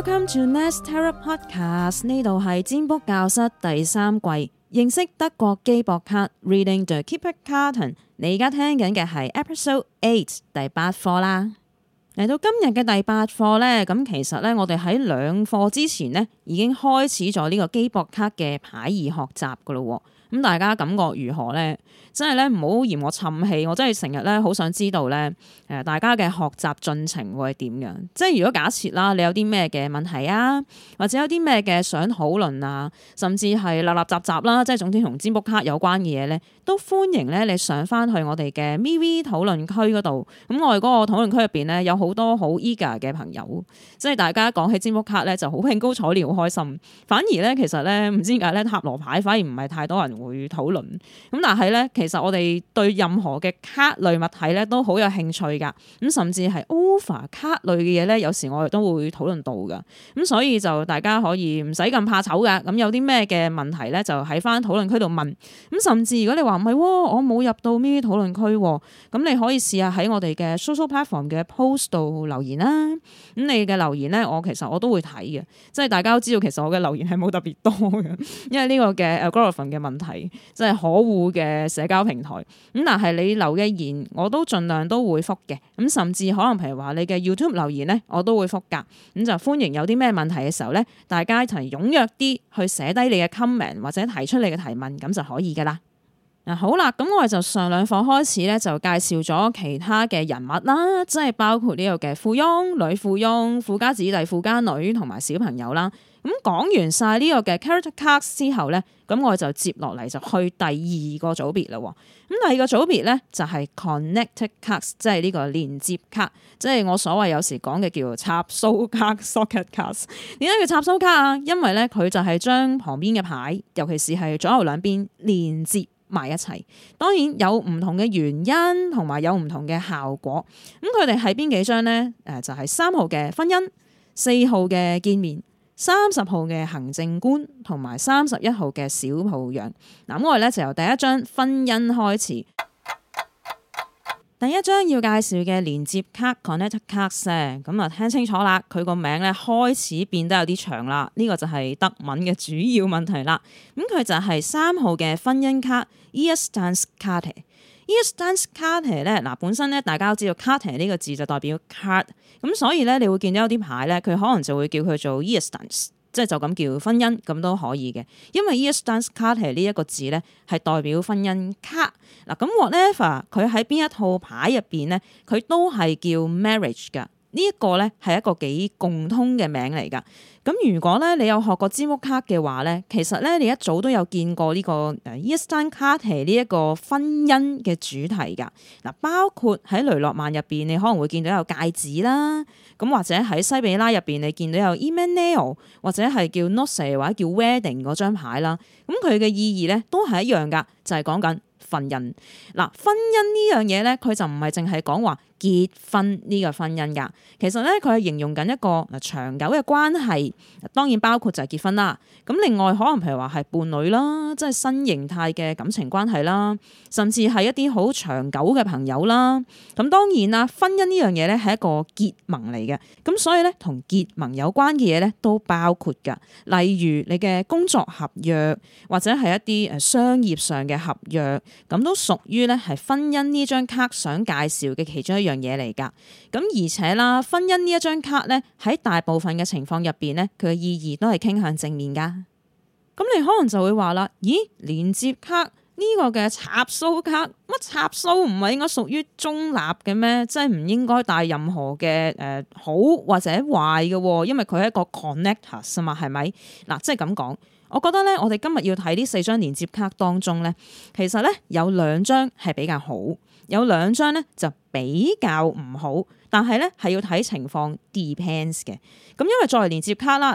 Welcome to Nestera Podcast， 呢度係占卜教室第3季，認識德國基博卡 Reading the Keeper Carton。你而家聽緊嘅係 Episode 8第8課啦。嚟到今日嘅第8課呢，咁其實呢，我哋喺2課之前呢已經開始咗呢個基博卡嘅牌義學習噶咯。咁大家感覺如何呢？真係咧唔好嫌我沉氣，我真係成日咧好想知道咧大家嘅學習進程會係點嘅？即係如果假設啦，你有啲咩嘅問題啊，或者有啲咩嘅想討論啊，甚至係立雜雜啦，即係總之同占卜卡有關嘅嘢咧，都歡迎咧你上翻去我哋嘅 MeWe 討論區嗰度。咁我哋嗰個討論區入邊咧有好多好 eager 嘅朋友，即係大家講起占卜卡咧就好興高采烈，好開心。反而咧其實咧唔知點解咧塔羅牌反而唔係太多人會討論。咁但係咧其實我哋對任何嘅卡類物體咧都好有興趣噶，咁甚至係 over 卡類嘅嘢咧，有時我哋都會討論到噶，咁所以就大家可以唔使咁怕醜噶，咁有啲咩嘅問題咧就喺翻討論區度問，咁甚至如果你話唔係，我冇入到 MeWe 討論區，咁你可以試下喺我哋嘅 social platform 嘅 post 度留言啦，咁你嘅留言咧，其實我都會睇嘅，即係大家都知道其實我嘅留言係冇特別多嘅，因為呢個嘅 algorithm 嘅問題，即係可惡嘅社交平台。咁但係你留嘅言我都盡量都會覆嘅，咁甚至可能譬如話你嘅 YouTube 留言咧，我都會覆噶，咁就歡迎有啲咩問題嘅時候咧，大家一齊踴躍啲去寫低你嘅 comment 或者提出你嘅提問，咁就可以噶啦。嗱好啦，咁我哋就上2課開始咧，就介紹咗其他嘅人物啦，即係包括呢個嘅富翁、女富翁、富家子弟、富家女同埋小朋友啦。咁講完晒呢個嘅 character cards 之後咧，咁我就接落嚟就去第2個組別啦。咁第2個組別咧就係 connected cards， 即係呢個連接卡，即係我所謂有時講嘅叫插蘇卡 socket cards。點解叫插蘇卡啊？因為咧佢就係將旁邊嘅牌，尤其是係左右兩邊連接埋一齊，當然有唔同嘅原因同埋有唔同嘅效果。咁佢哋係邊幾張呢？就係3號嘅婚姻、4號嘅見面、30號嘅行政官同埋31號嘅小抱養。嗱，咁我哋咧就由第一張婚姻開始。第一張要介紹嘅連接卡 connect cards 咧，咁啊聽清楚啦，佢個名咧開始變得有啲長啦，呢個就係德文嘅主要問題啦。咁佢就係3號嘅婚姻卡 Ehestandskarte。Ehestandskarte 咧，嗱本身咧大家都知道 Karte 呢個字就代表 card， 咁所以咧你會見到有啲牌咧，佢可能就會叫佢做 Ehestand， 即係就咁叫婚姻咁都可以嘅，因為 Ehestandskarte 呢一個字咧係代表婚姻卡。嗱咁 whatever 佢喺邊一套牌入邊咧，佢都係叫 marriage 噶。呢一個咧係一個幾共通嘅名嚟噶。咁如果咧你有學過占卜卡嘅話咧，其實咧你一早都有見過呢個Ehestandskarte呢一個婚姻嘅主題噶。嗱，包括喺雷諾曼入邊，你可能會見到有戒指啦。咁或者喺西比拉入邊，你見到有 Hymeneal 或者係叫 Nuptial 或者叫 Wedding 嗰張牌啦。咁佢嘅意義咧都係一樣噶，就係講緊婚姻。嗱，婚姻呢樣嘢咧，佢就唔係淨係講話結婚呢個婚姻噶，其實咧佢係形容緊一個長久嘅關係，當然包括就係結婚啦。咁另外可能譬如話係伴侶啦，即係新形態嘅感情關係啦，甚至係一啲好長久嘅朋友啦。咁當然啦，婚姻呢樣嘢咧係一個結盟嚟嘅，咁所以咧同結盟有關嘅嘢咧都包括噶，例如你嘅工作合約或者係一啲商業上嘅合約，咁都屬於咧係婚姻呢張卡想介紹嘅其中一樣嘢嚟噶。咁而且啦，婚姻呢一張卡咧喺大部分嘅情況入邊咧，佢嘅意義都係傾向正面噶。咁你可能就會話啦，咦，連接卡呢個嘅插蘇卡，乜插蘇唔係應該屬於中立嘅咩？即係唔應該帶任何嘅好或者壞嘅，因為佢係一個 connectors 啊嘛，係咪？嗱，即係咁講，我覺得咧，我哋今日要睇呢4張連接卡當中咧，其實咧有2張係比較好，有2張咧就比較唔好，但係咧係要睇情況 depends 嘅。咁因為作為連接卡啦，嗱。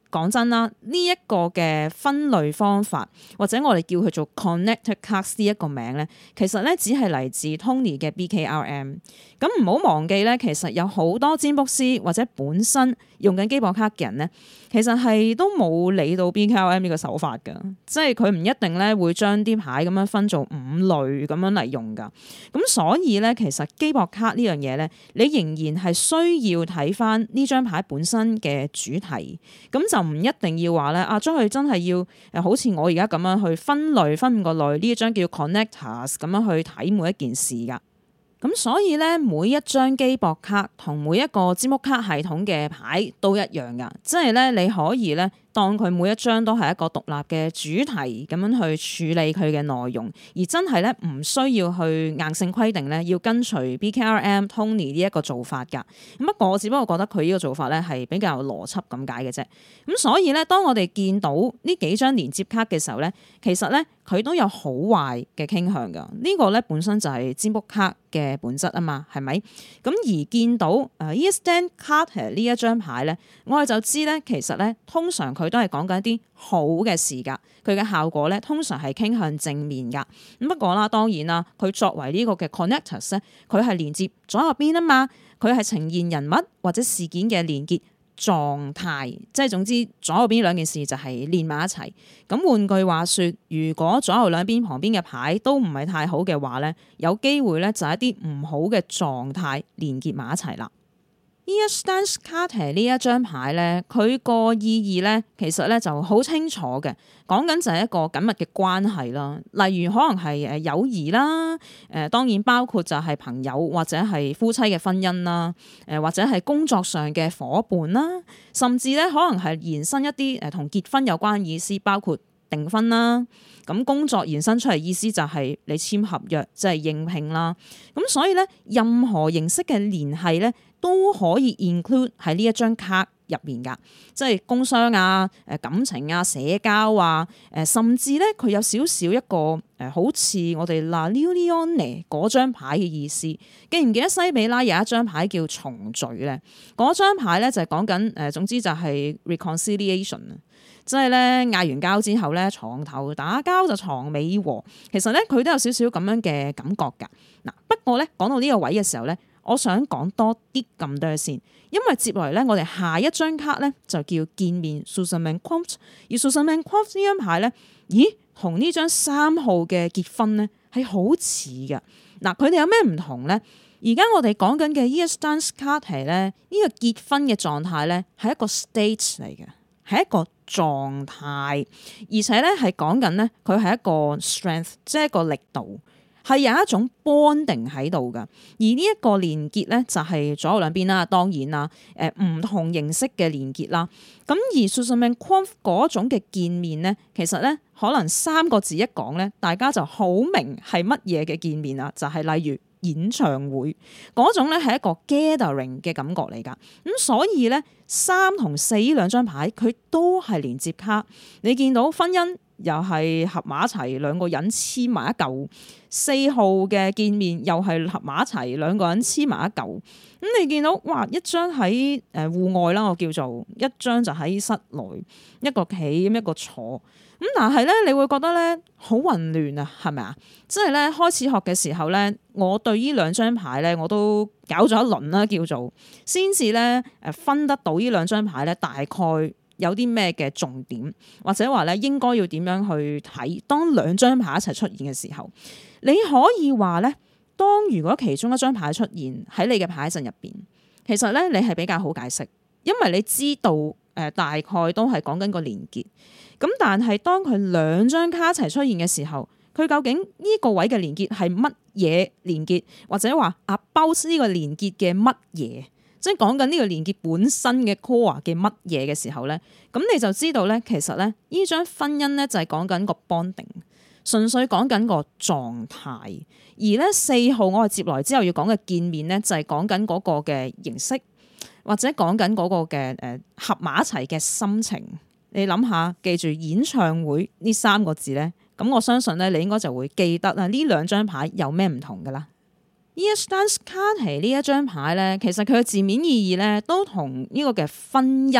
講真啦，呢一個嘅分類方法，或者我哋叫佢做 connected cards 呢一個名咧，其實咧只係嚟自 Tony 嘅 BKRM。咁唔好忘記咧，其實有好多占卜師或者本身用緊機博卡嘅人咧，其實係都冇理到 BKRM 呢個手法㗎，即係佢唔一定咧會將啲牌咁樣分做5類咁樣嚟用㗎。咁所以咧，其實機博卡呢樣嘢咧，你仍然係需要睇返呢張牌本身嘅主題，咁就唔一定要話咧將佢真係要好似我而家咁樣去分類分5個類，呢一張叫 connectors 咁樣去睇每一件事㗎。咁所以咧，每一張機博卡同每一個占卜卡系統嘅牌都一樣㗎，即係咧你可以咧當佢每一張都係一個獨立嘅主題咁樣去處理佢嘅內容，而真係咧唔需要去硬性規定咧要跟隨 BKRM Tony 呢一個做法㗎。咁不過我只不過覺得佢呢個做法咧係比較邏輯咁解嘅啫。咁所以咧，當我哋見到呢幾張連接卡嘅時候咧，其實咧佢都有好壞嘅傾向㗎。呢個咧本身就係占卜卡嘅本質啊嘛，係咪？咁而見到Eastern Card 呢一張牌咧，我哋就知咧，其實咧通常佢都係講緊一啲好嘅事㗎，佢嘅效果咧通常係傾向正面㗎。咁不過啦，當然啦，佢作為呢個嘅 connectors 咧，佢係連接左右邊啊嘛，佢係呈現人物或者事件嘅連結狀態，即係總之左右邊兩件事就係連埋一齊。咁換句話說，如果左右兩邊旁邊嘅牌都唔係太好嘅話咧，有機會咧就係一啲唔好嘅狀態連結埋一齊啦。Eastern Card 呢一張牌咧，佢個意義咧其實咧就好清楚嘅，講緊就係一個緊密嘅關係啦。例如可能係友誼啦，當然包括就係朋友或者係夫妻嘅婚姻啦，或者係工作上嘅夥伴啦，甚至咧可能係延伸一啲同結婚有關意思，包括訂婚啦。咁工作延伸出嚟意思就係你簽合約，即係應聘啦。咁所以咧，任何形式嘅聯繫咧都可以 include 喺呢一張卡入面㗎，即係工商啊、感情啊、社交啊，甚至咧佢有少少一個好似我哋 La Unione 嗰張牌嘅意思。記唔記得西比拉有一張牌叫重聚咧？嗰張牌咧就係講緊總之就係 reconciliation 啊。即係咧嗌完交之後咧，床頭打交就床尾和。其實咧佢都有少少咁樣嘅感覺㗎。嗱，不過咧講到呢個位嘅時候咧，我想講多啲咁多先，因為接落嚟咧，我哋下一張卡咧就叫見面 Susan Quant， 而 Susan Quant 呢張牌咧，咦，同呢張3號嘅結婚咧係好似㗎。嗱，佢哋有咩唔同咧？而家我哋講緊嘅 Eastern Card 係咧，呢個結婚嘅狀態咧係一個 state 嚟嘅。係一個狀態，而且咧係講緊咧，佢係一個 strength， 即係一個力度，係有一種 bonding 喺度噶。而呢一個連結咧，就係左右兩邊啦，當然啦，唔同形式嘅連結啦。咁而 Susan Quant 嗰種嘅見面咧，其實咧可能3個字一講咧，大家就好明係乜嘢嘅見面啦，就係例如演唱會嗰種咧係一個 gathering 嘅感覺嚟㗎。咁所以咧3同4呢兩張牌佢都係連接卡，你見到婚姻又係合埋一齊，兩個人黐埋一嚿，4號嘅見面又係合埋一齊，兩個人黐埋一嚿。咁你見到哇，一張喺戶外啦，我叫做一張就喺室內，一個企咁一個坐。咁但係咧，你會覺得咧好混亂啊，係咪啊？即係咧開始學嘅時候咧，我對呢兩張牌咧，我都搞咗一輪啦，叫做先至咧分得到呢兩張牌咧，大概有啲咩嘅重點，或者話咧應該要點樣去睇。當兩張牌一齊出現嘅時候，你可以話咧，當如果其中一張牌出現喺你嘅牌陣入邊，其實咧你係比較好解釋，因為你知道大概都係講緊個連結。咁但係當佢兩張卡一齊出現嘅時候，佢究竟呢個位嘅連結係乜嘢連結，或者話 about 呢個連結嘅乜嘢，即係講緊呢個連結本身嘅 core 嘅乜嘢嘅時候咧，咁你就知道咧，其實咧呢張婚姻咧就係講緊個 bonding，純粹講緊個狀態。而咧4號我係接來之後要講嘅見面咧，就係講緊嗰個嘅形式，或者講緊嗰個嘅合埋一齊嘅心情。你諗下，記住演唱會呢3個字咧，咁我相信咧，你應該就會記得啦。呢兩張牌有咩唔同噶啦？Eastern Card 呢一張牌咧，其實佢嘅字面意義咧，都同呢個嘅婚姻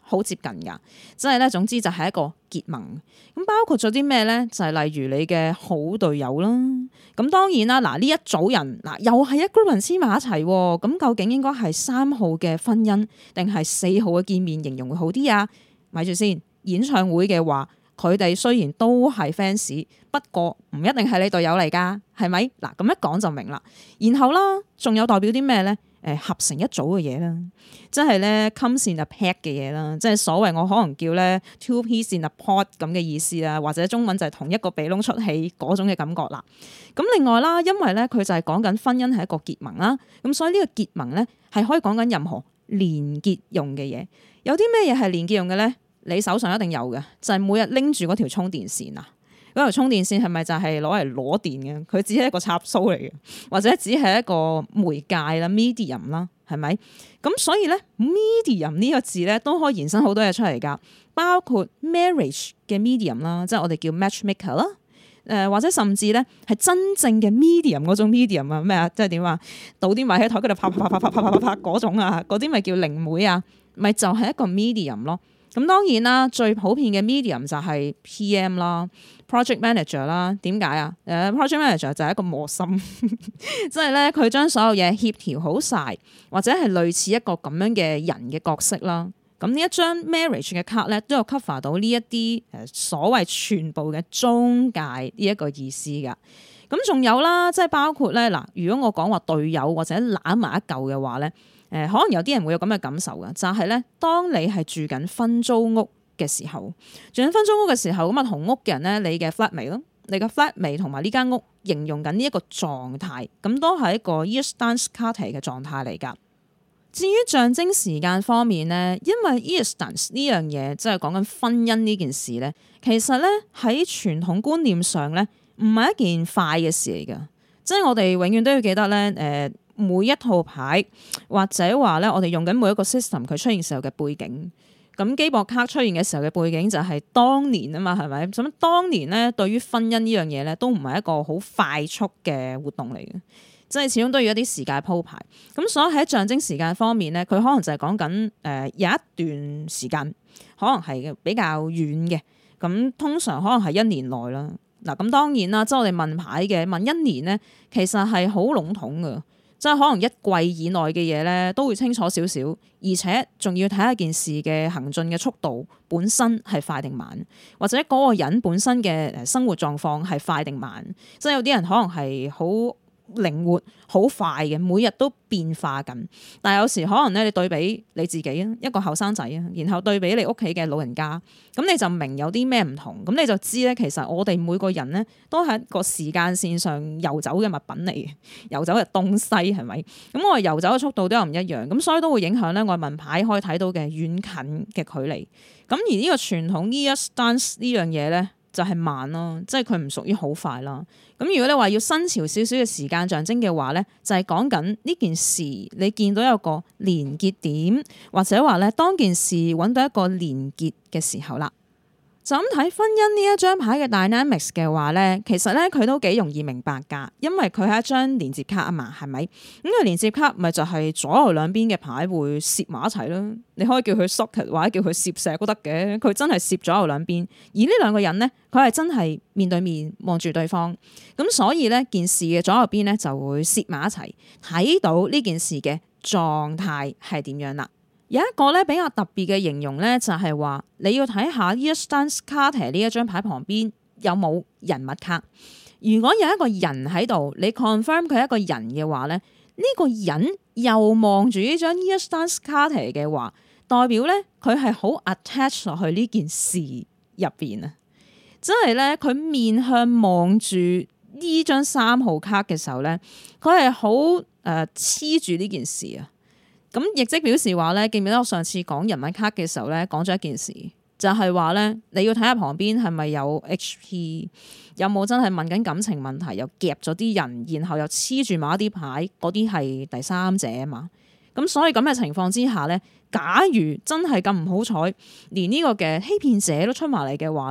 好接近㗎，即係咧總之就係一個結盟。咁包括咗啲咩咧？就係例如你嘅好隊友啦。咁當然啦，嗱呢一組人嗱又係一 group 人黐埋一齊，咁究竟應該係3號嘅婚姻定係4號嘅見面形容會好啲啊？咪住先，演唱會嘅話，佢哋雖然都係 fans，不過唔一定係你隊友嚟㗎，係咪？嗱咁一講就明啦。然後啦，仲有代表啲咩咧？合成一組嘅嘢啦，即係咧 comes in a pack 嘅嘢啦，即係所謂我可能叫咧 two peas in a pod 咁嘅意思啦，或者中文就係同一個鼻窿出氣嗰種嘅感覺啦。咁另外啦，因為咧佢就係講緊婚姻係一個結盟啦，咁所以呢個結盟咧係可以講緊任何連結用嘅嘢。有啲咩嘢係連結用嘅咧？你手上一定有嘅，就係每日拎住嗰條充電線啊！嗰條充電線係咪就係攞嚟攞電嘅？佢只係一個插蘇嚟嘅，或者只係一個媒介啦 medium 啦，係咪？咁所以咧 medium 呢個字咧都可以延伸好多嘢出嚟㗎，包括 marriage 嘅 medium 啦，即係我哋叫 matchmaker 啦，或者甚至咧係真正嘅 medium 嗰種 medium 啊咩啊，即係點啊？倒啲米喺台嗰度啪啪啪啪啪啪啪啪嗰種啊，嗰啲咪叫靈媒啊，咪就係一個 medium 咯。咁當然啦，最普遍嘅 medium 就係 PM 啦。Project Manager 啦，點解啊？Project Manager 就係一個磨心，即係咧佢將所有嘢協調好晒，或者係類似一個咁樣嘅人嘅角色啦。咁呢一張 marriage 嘅卡咧，都有 cover 到呢一啲所謂全部嘅中介呢一個意思噶。咁仲有啦，即係包括咧嗱，如果我講話隊友或者攬埋一嚿嘅話咧，可能有啲人會有咁嘅感受噶，就係咧，當你係住緊分租屋嘅時候，住緊分租屋嘅時候，咁啊同屋嘅人咧，你嘅 flatmate 咯，你嘅 flatmate 同埋呢間屋形容緊呢一個狀態，咁都係一個 Year-Stance Karte 嘅狀態嚟㗎。至於象徵時間方面咧，因為 Year-Stance 呢樣嘢即係講緊婚姻呢件事咧，其實咧喺傳統觀念上咧，唔係一件快嘅事嚟㗎，即係我哋永遠都要記得咧，每一套牌或者話咧，我哋用緊每一個 system 佢出現時候嘅背景。咁基博卡出現嘅時候嘅背景就係當年啊嘛，係咪？咁當年咧，對於婚姻呢樣嘢咧，都唔係一個好快速嘅活動嚟嘅，即係始終都要一啲時間鋪排。咁所以喺象徵時間方面咧，佢可能就係講緊有一段時間，可能係比較遠嘅。咁通常可能係1年內啦。嗱，咁當然啦，即係我哋問牌嘅問1年咧，其實係好籠統㗎。即係可能1季以內嘅嘢咧，都會清楚少少，而且仲要睇下件事嘅行進嘅速度本身係快定慢，或者嗰個人本身嘅生活狀況係快定慢。即係有啲人可能係好靈活、好快嘅，每日都變化緊。但係有時可能咧，你對比你自己啊，一個後生仔啊，然後對比你屋企嘅老人家，咁你就明有啲咩唔同。咁你就知咧，其實我哋每個人咧都係一個時間線上遊走嘅物品嚟嘅，遊走嘅東西係咪？咁我哋遊走嘅速度都有唔一樣，咁所以都會影響咧我哋問牌可以睇到嘅遠近嘅距離。咁而呢個傳統 Year-Stance 呢樣嘢咧，就係慢咯，即係佢唔屬於好快啦。咁如果你話要新潮少少嘅時間象徵嘅話咧，就係講緊呢件事，你見到有個連結點，或者話咧，當件事揾到一個連結嘅時候啦。就咁睇婚姻呢一張牌嘅 dynamics 嘅話咧，其實咧佢都幾容易明白㗎，因為佢係一張連接卡啊嘛，係咪？咁個連接卡咪就係左右兩邊嘅牌會攝埋一齊咯。你可以叫佢 socket 或者叫佢攝石都得嘅，佢真係攝左右兩邊。而呢兩個人咧，佢係真係面對面望住對方，咁所以咧件事嘅左右邊咧就會攝埋一齊，睇到呢件事嘅狀態係點樣啦。有一個咧比較特別嘅形容咧，就係話你要睇下 Year-Stance Karte 呢一張牌旁邊有冇人物卡。如果有一個人喺度，你 confirm 佢係一個人嘅話咧，呢個人又望住呢張 Year-Stance Karte 嘅話，代表咧佢係好 attach 落去呢件事入邊啊！即係咧佢面向望住呢張3號卡嘅時候咧，佢係好黐住呢件事啊！咁亦即表示話咧，記唔記得我上次講人物卡嘅時候咧，講咗一件事，就係話咧，你要睇下旁邊係咪有 HP， 有冇真係問緊感情問題，又夾咗啲人，然後又黐住某一啲牌，嗰啲係第三者啊嘛。咁所以咁嘅情況之下咧，假如真係咁唔好彩，連呢個嘅欺騙者都出埋嚟嘅話咧，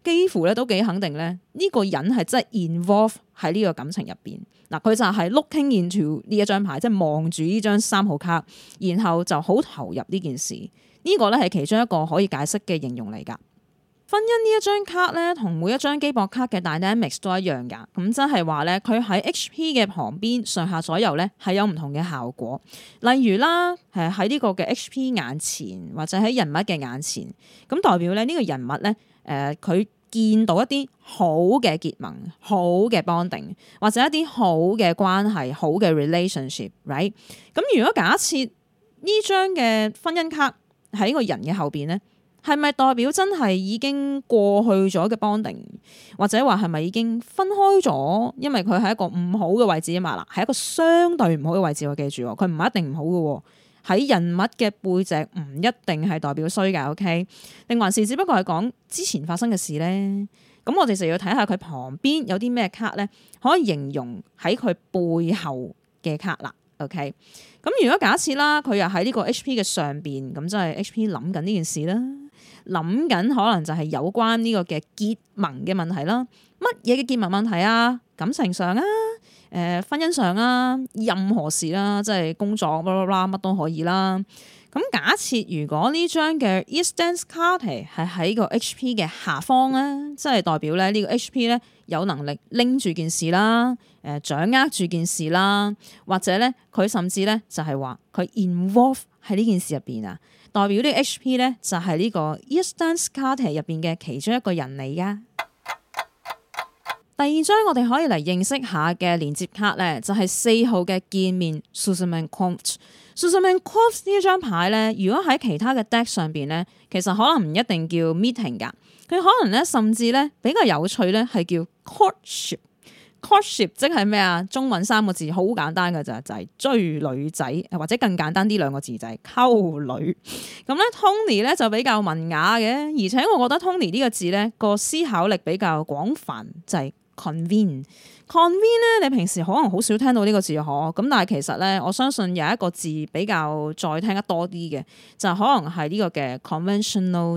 幾乎咧都幾肯定咧呢個人係真係 involve 喺呢個感情入邊。嗱，佢就係 looking into 呢一張牌，即係望住呢張3號卡，然後就好投入呢件事。呢個咧係其中一個可以解釋嘅形容嚟㗎。婚姻呢一張卡咧，同每一張機博卡嘅 dynamics 都一樣㗎。咁即係話咧，佢喺 HP 嘅旁邊上下左右咧係有唔同嘅效果。例如啦，喺呢個嘅 HP 眼前，或者喺人物嘅眼前，咁代表咧呢個人物咧，佢見到一啲好嘅結盟、好嘅 bonding， 或者一啲好嘅關係、好嘅 relationship，right？ 咁如果假設呢張嘅婚姻卡喺呢個人嘅後邊咧，係咪代表真係已經過去咗嘅 bonding， 或者話係咪已經分開咗？因為佢係一個唔好嘅位置啊嘛，嗱，係一個相對唔好嘅位置，我記住，佢唔係一定唔好嘅。喺人物嘅背脊唔一定係代表衰嘅 ，OK？ 定還是只不過係講之前發生嘅事咧？咁我哋就要睇下佢旁邊有啲咩卡咧，可以形容喺佢背後嘅卡啦。OK？ 咁如果假設啦，佢又喺呢個 HP 嘅上邊，咁即係 HP 諗緊呢件事啦，諗緊可能就係有關呢個嘅結盟嘅問題啦。乜嘢嘅結盟問題啊？感情上啊？婚姻上啊，任何事啦，即係工作乜都可以啦。咁假設如果呢張嘅 Eastern Card 係喺個 HP 嘅下方咧，即係代表咧呢個 HP 咧有能力拎住件事啦，掌握住件事啦，或者咧佢甚至咧就係話佢 involve 喺呢件事入邊啊，代表呢個 HP 咧就係呢個 Eastern Card 入邊嘅其中一個人嚟噶。第二張我哋可以嚟認識下嘅連接卡咧，就係4號嘅見面 Sussman Quote。Sussman Quote 呢一張牌咧，如果喺其他嘅 deck 上邊咧，其實可能唔一定叫 meeting 噶，佢可能咧甚至咧比較有趣咧係叫 courtship。courtship 即係咩啊？中文3個字好簡單嘅就係追女仔，或者更簡單啲2個字就係溝女。咁咧 Tony 咧就比較文雅嘅，而且我覺得 Tony 呢個字咧個思考力比較廣泛，就係convene 咧，你平時可能好少聽到呢個字嗬，咁但係其實咧，我相信有一個字比較再聽得多啲嘅，就可能係呢個嘅 conventional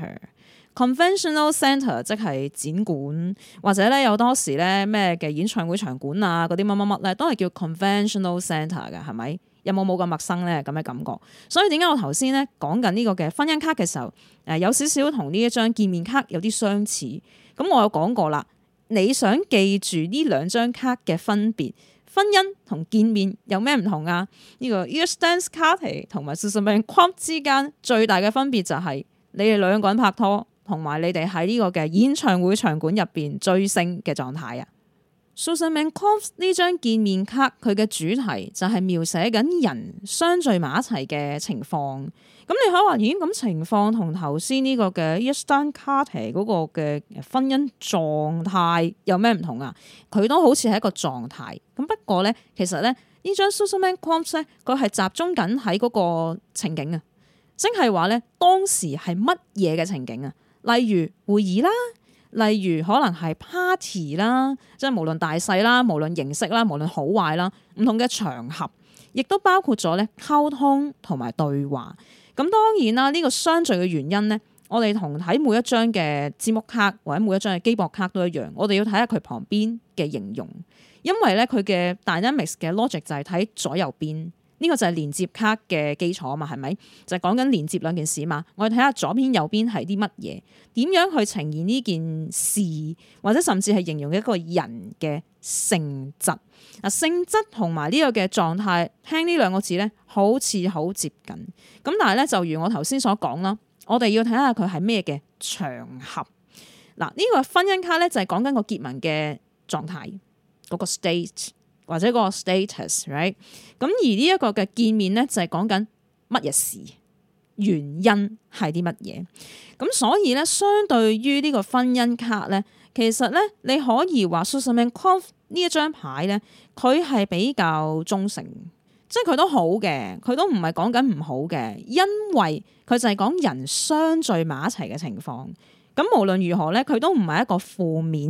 center。conventional center 即係展館，或者咧有多時咧咩嘅演唱會場館啊，嗰啲乜乜乜咧，都係叫 conventional center 嘅，係咪？有冇咁陌生咧咁嘅感覺？所以點解我頭先咧講緊呢個嘅婚姻卡嘅時候，有少少同呢一張見面卡有啲相似。咁我有講過啦。你想記住呢2張卡嘅分別，婚姻同見面有咩唔同啊？呢個 Eastern Card 同埋 Sussman Quote 之間最大嘅分別就係你哋2個人拍拖，同埋你哋喺呢個嘅演唱會場館入邊追星嘅狀態啊。Sussman Quote 呢張見面卡，佢嘅主題就係描寫緊人相聚埋一齊嘅情況。咁你可以話，咦？咁情況同頭先呢個嘅 Eastern Card 嗰個嘅婚姻狀態有咩唔同啊？佢都好似係一個狀態。咁不過咧，其實咧呢張 Sussman Quote 咧，佢係集中緊喺嗰個情景啊，即係話咧當時係乜嘢嘅情景啊？例如會議啦，例如可能係 party 啦，即係無論大細啦，無論形式啦，無論好壞啦，唔同嘅場合，亦都包括咗咧溝通同埋對話。咁當然啦，呢個相聚嘅原因咧，我哋同睇每一張嘅字幕卡或者每一張嘅機博卡都一樣，我哋要睇下佢旁邊嘅形容，因為咧佢嘅 dynamics 嘅 logic 就係睇左右邊，呢個就係連接卡嘅基礎啊嘛，係咪？就係講緊連接兩件事嘛。我哋睇下左邊右邊係啲乜嘢，點樣去呈現呢件事，或者甚至係形容一個人嘅性質。嗱，性質同埋呢個嘅狀態，聽呢2個字咧，好似好接近。咁但係咧，就如我頭先所講啦，我哋要睇下佢係咩嘅場合。嗱，呢個婚姻卡咧就係講緊個結盟嘅狀態，嗰個 state 或者嗰個 status，right？ 咁而呢一個嘅見面咧就係講緊乜嘢事，原因係啲乜嘢。咁所以咧，相對於呢個婚姻卡咧，其實咧你可以話 Sussman Quote 呢一張牌咧，佢係比較中性，即係佢都好嘅，佢都唔係講緊唔好嘅，因為佢就係講人相聚埋一齊嘅情況。咁無論如何咧，佢都唔係一個負面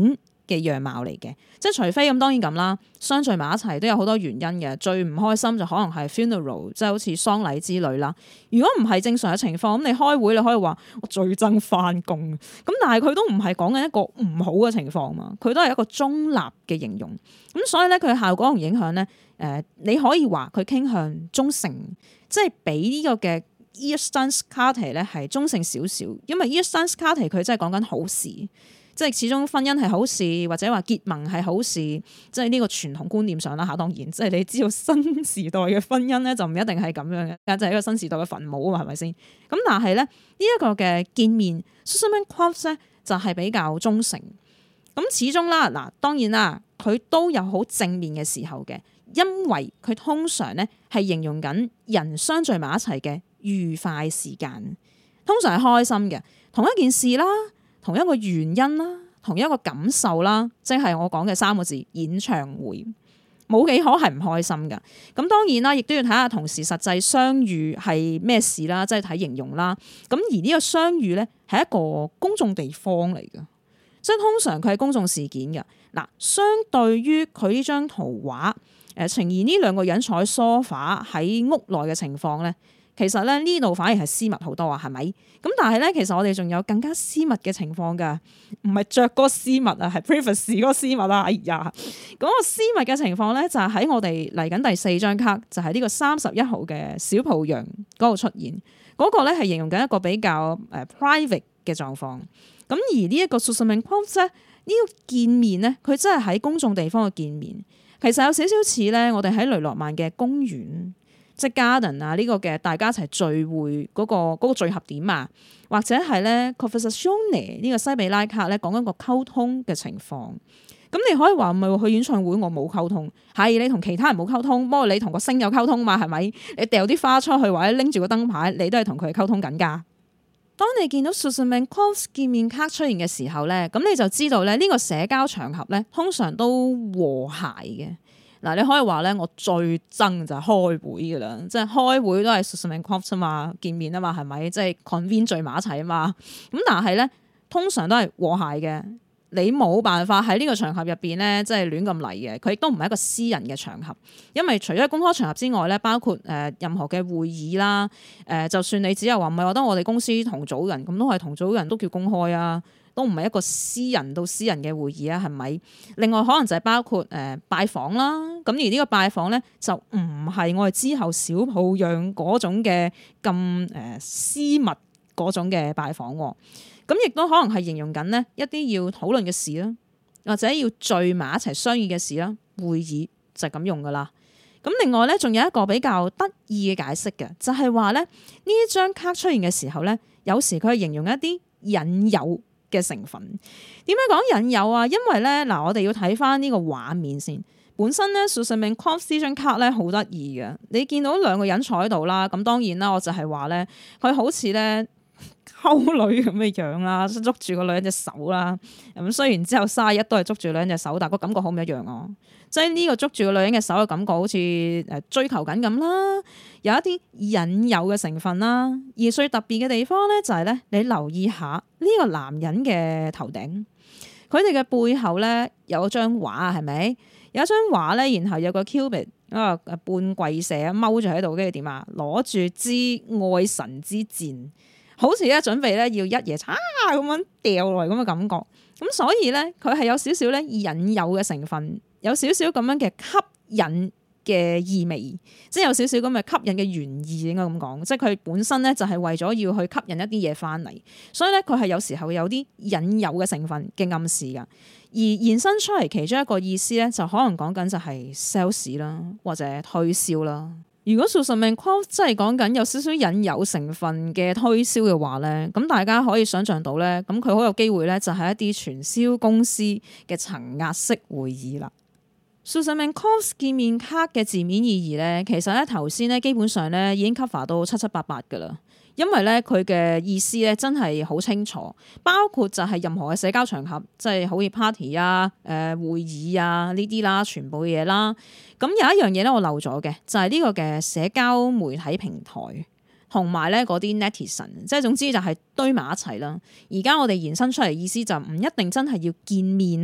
嘅樣貌嚟嘅，即係除非咁當然咁啦，相聚埋一齊都有好多原因嘅。最唔開心就可能係 funeral， 即係好似喪禮之類啦。如果唔係正常嘅情況，咁你開會你可以話我最憎返工，咁但係佢都唔係講緊一個唔好嘅情況嘛，佢都係一個中立嘅形容。咁所以咧佢嘅效果同影響咧，你可以話佢傾向中性，即係比呢個嘅 Eastern-Carty 咧係中性少少，因為 Eastern-Carty 佢真係講緊好事。即係始終婚姻係好事，或者話結盟係好事，即係呢個傳統觀念上啦嚇。當然，即係你知道新時代嘅婚姻咧就唔一定係咁樣嘅，就係一個新時代嘅墳墓啊嘛，係咪先？咁但係咧呢一個嘅見面 Susan Quotes 咧就係比較中性。咁始終啦，嗱當然啦，佢都有好正面嘅時候嘅，因為佢通常咧係形容緊人相聚埋一齊嘅愉快時間，通常係開心嘅，同一件事啦。同一個原因啦，同一個感受啦，即係我講嘅3個字演唱會，冇幾可係唔開心噶。咁當然啦，亦都要睇下同時實際相遇係咩事啦，即係睇形容啦。咁而呢個相遇咧係一個公眾地方嚟噶，即係通常佢係公眾事件嘅。嗱，相對於佢呢張圖畫呈現呢兩個人坐喺梳化喺屋內嘅情況咧。其實咧呢度反而係私密好多啊，係咪？咁但係咧，其實我哋仲有更加私密嘅情況㗎，唔係着嗰個私密啊，係 privacy 嗰個私密啊。哎呀，嗰個私密嘅情況咧，就係喺我哋嚟緊第4張卡，就係呢個31號嘅小抱羊嗰度出現。嗰個咧係形容緊一個比較private 嘅狀況。咁而呢一個 Susan Quotes 咧，呢個見面咧，佢真係喺公眾地方嘅見面。其實有少少似咧，我哋喺雷諾曼嘅公園。即係 garden 啊，呢個嘅大家一齊聚會嗰個聚合點啊，或者係咧 conversazione 呢個西比拉卡咧講緊個溝通嘅情況。咁你可以話唔係去演唱會我冇溝通，係你同其他人冇溝通，不過你同個星有溝通嘛，係咪？你掉啲花出去或者拎住個燈牌，你都係同佢溝通緊㗎。當你見到 Susan Quotes 見面卡出現嘅時候咧，咁你就知道咧呢個社交場合咧通常都和諧嘅。嗱，你可以話咧，我最憎就係開會噶啦，即係開會都係 Susan Quotes 啊嘛，見面啊嘛，係咪？即係 convene 聚埋一齊啊嘛。咁但係咧，通常都係和諧嘅，你冇辦法喺呢個場合入邊咧，即係亂咁嚟嘅。佢亦都唔係一個私人嘅場合，因為除咗公開場合之外咧，包括任何嘅會議啦，就算你只係話唔係話得我哋公司同組人，咁都係同組人都叫公開啊。都唔係一個私人到私人嘅會議啊，係咪？另外可能就係包括拜訪啦，咁而呢個拜訪咧就唔係我哋之後小抱養嗰種嘅咁私密嗰種嘅拜訪，咁亦都可能係形容緊呢一啲要討論嘅事啦，或者要聚埋一齊商議嘅事啦，會議就係咁用噶啦。咁另外咧仲有一個比較得意嘅解釋嘅，就係話咧呢一張卡出現嘅時候咧，有時佢係形容一啲引誘嘅成分。點解講引誘啊？因為咧嗱，我哋要睇翻呢個畫面先。本身咧 Susan Quotes 呢張卡咧好得意嘅，你見到兩個人坐喺度啦。咁當然啦，我就係話咧，佢好似咧溝女咁嘅樣啦，捉住個女人隻手啦。咁雖然之後31都係捉住女人隻手，但個感覺好唔一樣啊。即係呢個捉住個女人嘅手嘅感覺，好似追求緊咁啦，有一啲引誘嘅成分啦。而最特別嘅地方咧，就係咧，你留意下呢個男人嘅頭頂，佢哋嘅背後咧有張畫啊，係咪？有一張畫咧，然後有個 Cupid 半跪蛇踎住喺度，跟住點啊？攞住支愛神之箭，好似咧準備咧要一夜叉咁樣掉落嚟咁嘅感覺。咁所以咧，佢係有少少咧引誘嘅成分。有少少咁樣嘅吸引嘅意味，即係有少少咁嘅吸引嘅原意，應該咁講，即係佢本身咧就係為咗要去吸引一啲嘢翻嚟，所以咧佢係有時候有啲引誘嘅成分嘅暗示噶，而延伸出嚟其中一個意思咧，就可能講緊就係 sales 啦，或者推銷啦。如果 Susan Quotes 真係講緊有少少引誘成分嘅推銷嘅話咧，咁大家可以想象到咧，咁佢好有機會咧就係一啲傳銷公司嘅層壓式會議啦。Susan Quotes 見面卡嘅字面意義咧，其實咧頭先咧基本上咧已經 cover 到七七八八噶啦，因為咧佢嘅意思咧真係好清楚，包括就係任何嘅社交場合，即係好似 party 啊、會議啊呢啲啦，全部嘢啦。咁有一樣嘢咧我漏咗嘅，就係呢個嘅社交媒體平台。同埋咧嗰啲 netizen， 即係總之就係堆埋一齊啦。而家我哋延伸出嚟意思就唔一定真係要見面咧，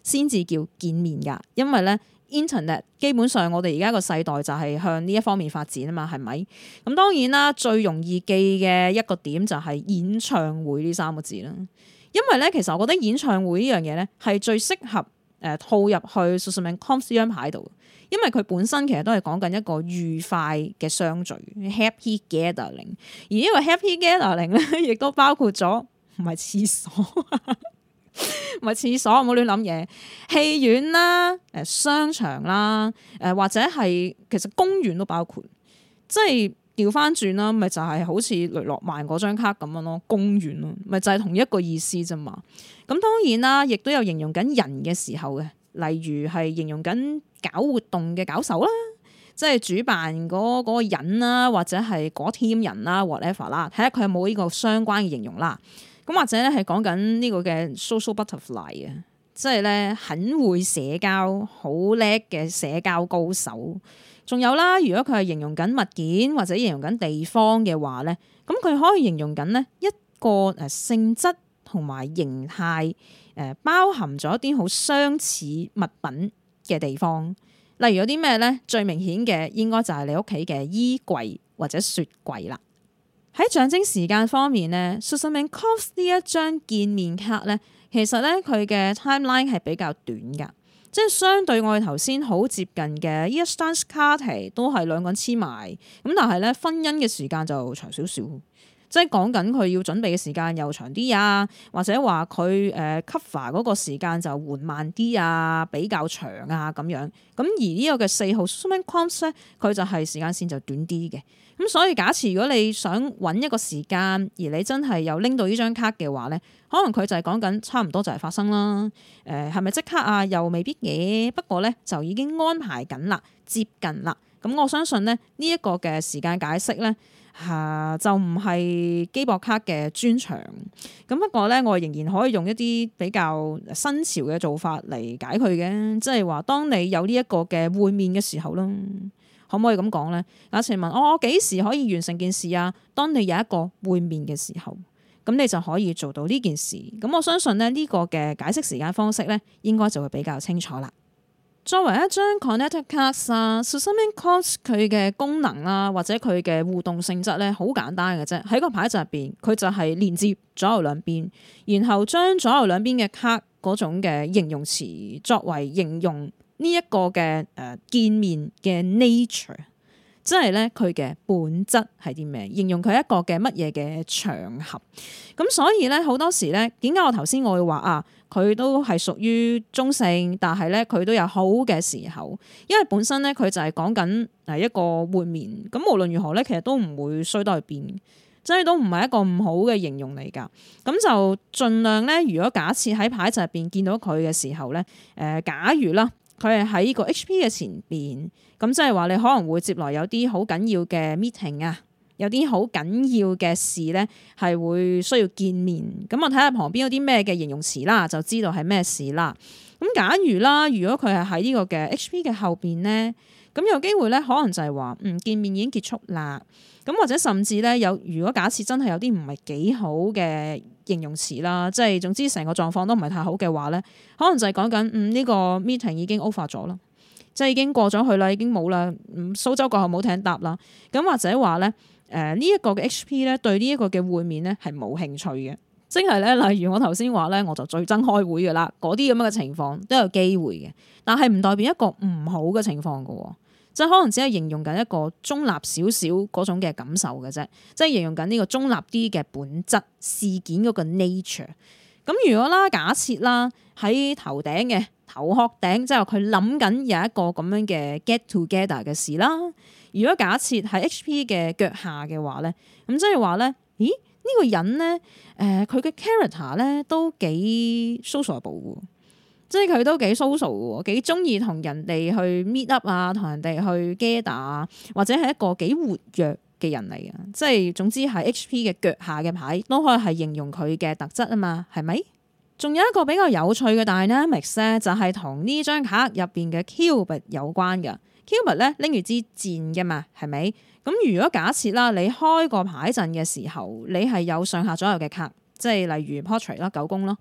先至叫見面㗎，因為咧 Internet 基本上我哋而家個世代就係向呢一方面發展啊嘛，係咪？咁當然啦，最容易記嘅一個點就係演唱會呢三個字啦。因為咧，其實我覺得演唱會呢樣嘢咧係最適合套入去 Social Conf 呢張牌度，因為佢本身其實都係講緊一個愉快嘅相聚 Happy Gathering， 而呢個 Happy Gathering 咧亦都包括咗唔係廁所。唔係廁所，唔好亂諗嘢。戲院啦，商場啦，或者係其實公園都包括，即係調翻轉啦，咪就係好似雷諾曼嗰張卡咁樣咯，公園咯，咪就係同一個意思啫嘛。咁當然啦，亦都有形容緊人嘅時候嘅，例如係形容緊搞活動嘅搞手啦，即係主辦嗰個人啦，或者係嗰 team 人啦 ，whatever 啦，睇下佢有冇呢個相關嘅形容啦。咁或者咧係講緊呢個嘅 social butterfly 啊，即係咧很會社交、好叻嘅社交高手。仲有啦，如果佢係形容緊物件或者形容緊地方嘅話咧，咁佢可以形容緊呢一個性質同埋形態包含咗一啲好相似物品嘅地方。例如有啲咩咧？最明顯嘅應該就係你屋企嘅衣櫃或者雪櫃啦。喺象徵時間方面咧 Susan Cox 呢一張見面卡咧，其實咧佢嘅 timeline 係比較短㗎，即係相對我哋頭先好接近嘅 Year Stance Card 都係兩個人黐埋，咁但係咧婚姻嘅時間就長少少，即係講緊佢要準備嘅時間又長啲啊，或者話佢cover 嗰個時間就緩慢啲啊，比較長啊咁樣。咁而呢個嘅4號 Susan Cox 咧，佢就係時間線就短啲嘅。咁所以假設如果你想揾一個時間，而你真係有拎到呢張卡嘅話咧，可能佢就係講緊差唔多就係發生啦。係咪即刻啊？又未必嘅。不過咧就已經安排緊啦，接近啦。咁我相信咧呢一個嘅時間解釋咧就唔係機博卡嘅專長。咁不過咧我仍然可以用一啲比較新潮嘅做法嚟解佢嘅，即係話當你有呢一個嘅會面嘅時候咯。可唔可以咁講咧？假設問我幾時可以完成件事啊？當你有一個會面嘅時候，咁你就可以做到呢件事。咁我相信咧呢個嘅解釋時間方式咧，應該就會比較清楚啦。作為一張 Connected Cards 啊 Susan Cox 佢嘅功能啦，或者佢嘅互動性質咧，好簡單嘅啫。喺個牌集入邊，佢就係連接左右兩邊，然後將左右兩邊嘅卡嗰種嘅形容詞作為形容呢一個嘅見面嘅 nature， 即係咧佢嘅本質係啲咩？形容佢一個嘅乜嘢嘅場合。咁所以咧好多時咧，點解我頭先我會話啊，佢都係屬於中性，但係咧佢都有好嘅時候，因為本身咧佢就係講緊一個會面。咁無論如何咧，其實都唔會衰得去邊，即係都唔係一個唔好嘅形容嚟㗎。咁就盡量咧，如果假設喺牌集入邊見到佢嘅時候咧，假如啦。佢係喺個 HP 嘅前邊，咁即係話你可能會接來有啲好緊要嘅 meeting 啊，有啲好緊要嘅事咧，係會需要見面。咁我睇下旁邊有啲咩嘅形容詞啦，就知道係咩事啦。咁假如啦，如果佢係喺呢個嘅 HP 嘅後邊咧，咁有機會咧，可能就係話見面已經結束啦。咁或者甚至咧有，如果假設真係有啲唔係幾好嘅形容詞啦，即係總之成個狀況都唔係太好嘅話咧，可能就係講緊呢個 meeting 已經 over 咗啦，即係已經過咗去啦，已經冇啦，蘇州過後冇艇搭啦。咁或者話咧呢一個嘅 HP 咧對呢一個嘅會面咧係冇興趣嘅，即係咧例如我頭先話咧，我就最憎開會㗎啦，嗰啲咁樣嘅情況都有機會嘅，但係唔代表一個唔好嘅情況㗎喎。即係可能只係形容緊一個中立少少嗰種嘅感受嘅啫，即係形容緊呢個中立啲嘅本質事件嗰個 nature。咁如果啦，假設啦喺頭頂嘅頭殼頂，即係佢諗緊有一個咁樣嘅 get together 嘅事啦。如果假設喺 HP 嘅腳下嘅話咧，咁即係話咧，咦呢個人咧佢嘅 character 咧都幾 sociable 嘅。即係佢都幾 social 嘅，幾中意同人哋去 meet up 啊，同人哋去 gather 啊，或者係一個幾活躍嘅人嚟嘅。即係總之係 HP 嘅腳下嘅牌都可以係形容佢嘅特質啊嘛，係咪？仲有一個比較有趣嘅 dynamics 咧，就係同呢張卡入邊嘅 Cupid 有關嘅。Cupid 咧拎住支箭嘅嘛，係咪？咁如果假設啦，你開個牌陣嘅時候，你係有上下左右嘅卡，即係例如 portrait 啦、九宮咯。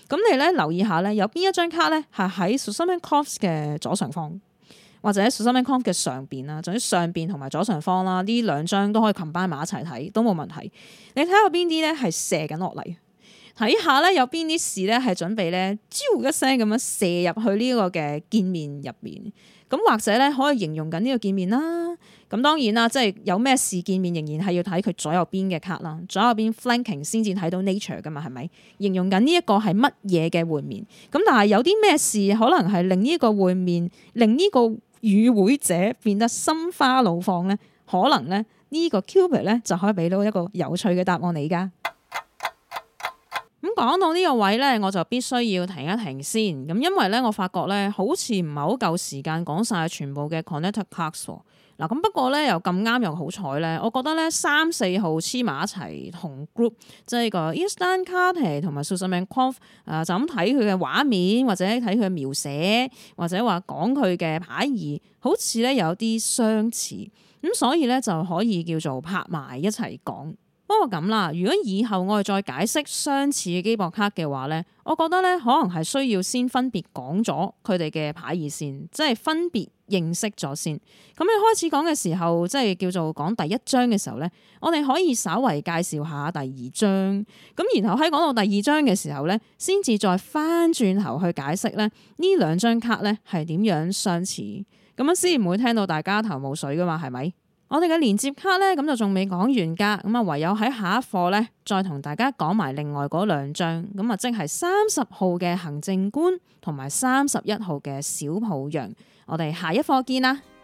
咁你咧留意下咧，有邊一張卡咧係喺 Susumenkoff 嘅左上方，或者 Susumenkoff 嘅上邊啦，總之上邊同埋左上方啦，呢兩張都可以 combine 埋一齊睇，都冇問題。你睇下邊啲咧係射緊落嚟，睇下咧有邊啲事咧係準備咧，啾一聲咁樣射入去呢個嘅見面入面。咁或者咧可以形容緊呢個見面啦。咁當然啦，即係有咩事見面，仍然係要睇佢左右邊嘅卡啦。左右邊 flanking 先至睇到 nature 噶嘛，係咪？形容緊呢一個係乜嘢嘅會面？咁但係有啲咩事可能係令呢個會面，令呢個與會者變得心花怒放咧？可能咧呢個 Cupid 咧就可以俾到一個有趣嘅答案你噶。咁講到呢個位咧，我就必須要停一停先。咁因為咧，我發覺咧，好似唔係好夠時間講晒全部嘅 connector cards 嗱。咁不過咧，又咁啱又好彩咧，我覺得咧3、4號黐埋一齊同 group，即係個 Eastern Card 同埋 Susumenkoff 就咁睇佢嘅畫面，或者睇佢嘅描寫，或者話講佢嘅牌意，好似咧有啲相似。咁所以咧就可以叫做拍埋一齊講。不過咁啦，如果以後我哋再解釋相似嘅機博卡嘅話咧，我覺得咧可能係需要先分別講咗佢哋嘅牌意先，即係分別認識咗先。咁你開始講嘅時候，即係叫做講第一章嘅時候咧，我哋可以稍為介紹下第二章。咁然後喺講到第二章嘅時候咧，先至再翻轉頭去解釋咧呢兩張卡咧係點樣相似，咁樣先唔會聽到大家頭霧水噶嘛，係咪？我哋嘅連接卡咧，咁就仲未講完㗎，咁啊唯有喺下一課咧，再同大家講埋另外嗰兩張，咁啊即係30號嘅行政官同埋31號嘅小抱羊，我哋下一課見啦。